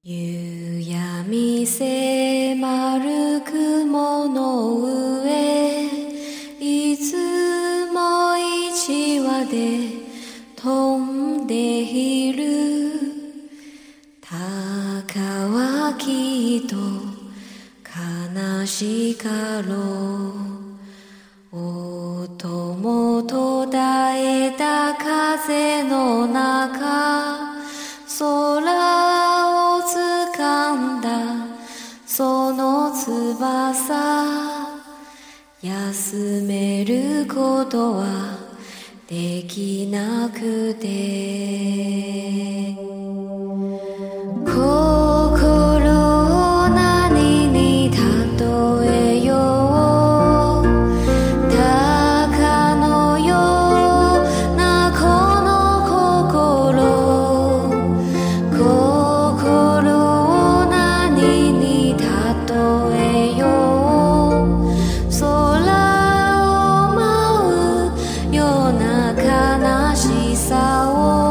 夕闇迫る雲の上、いつも一羽で飛んでいる。鷹はきっと悲しかろう。音も途絶えた風の中、空を掴んだその翼、休めることはできなくて、心を何に例えよう。鷹のようなこの心、心を何に例えよう。空を舞うような悲しさを、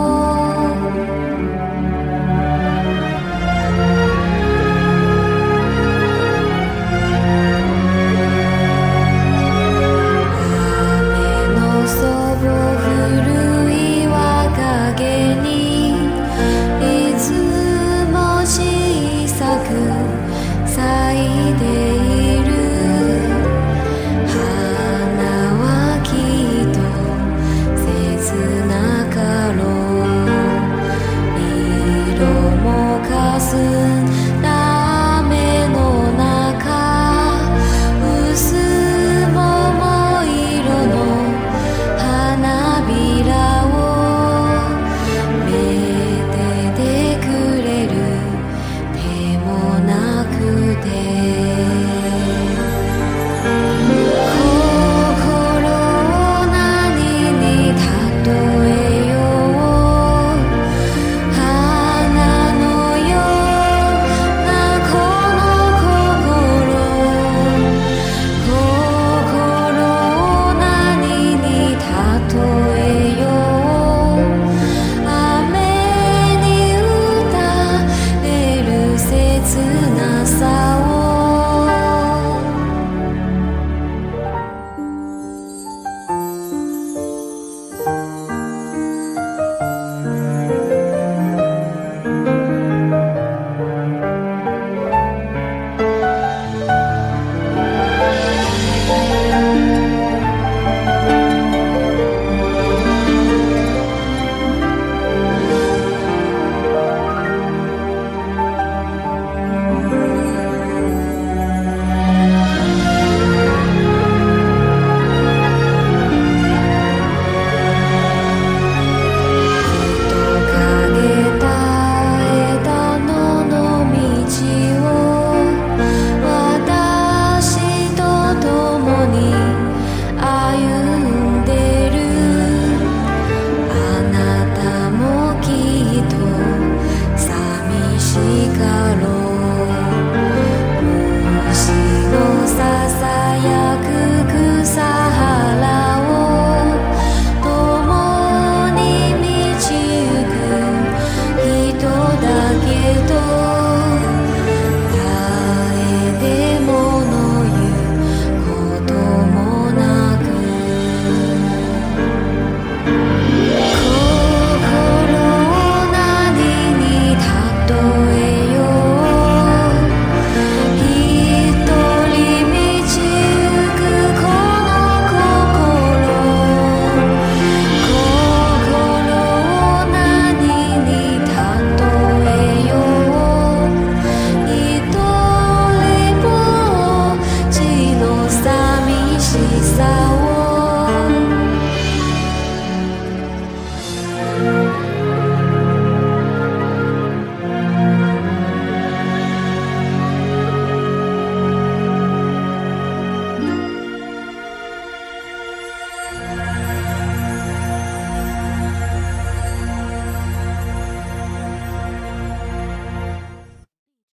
寂しかろう。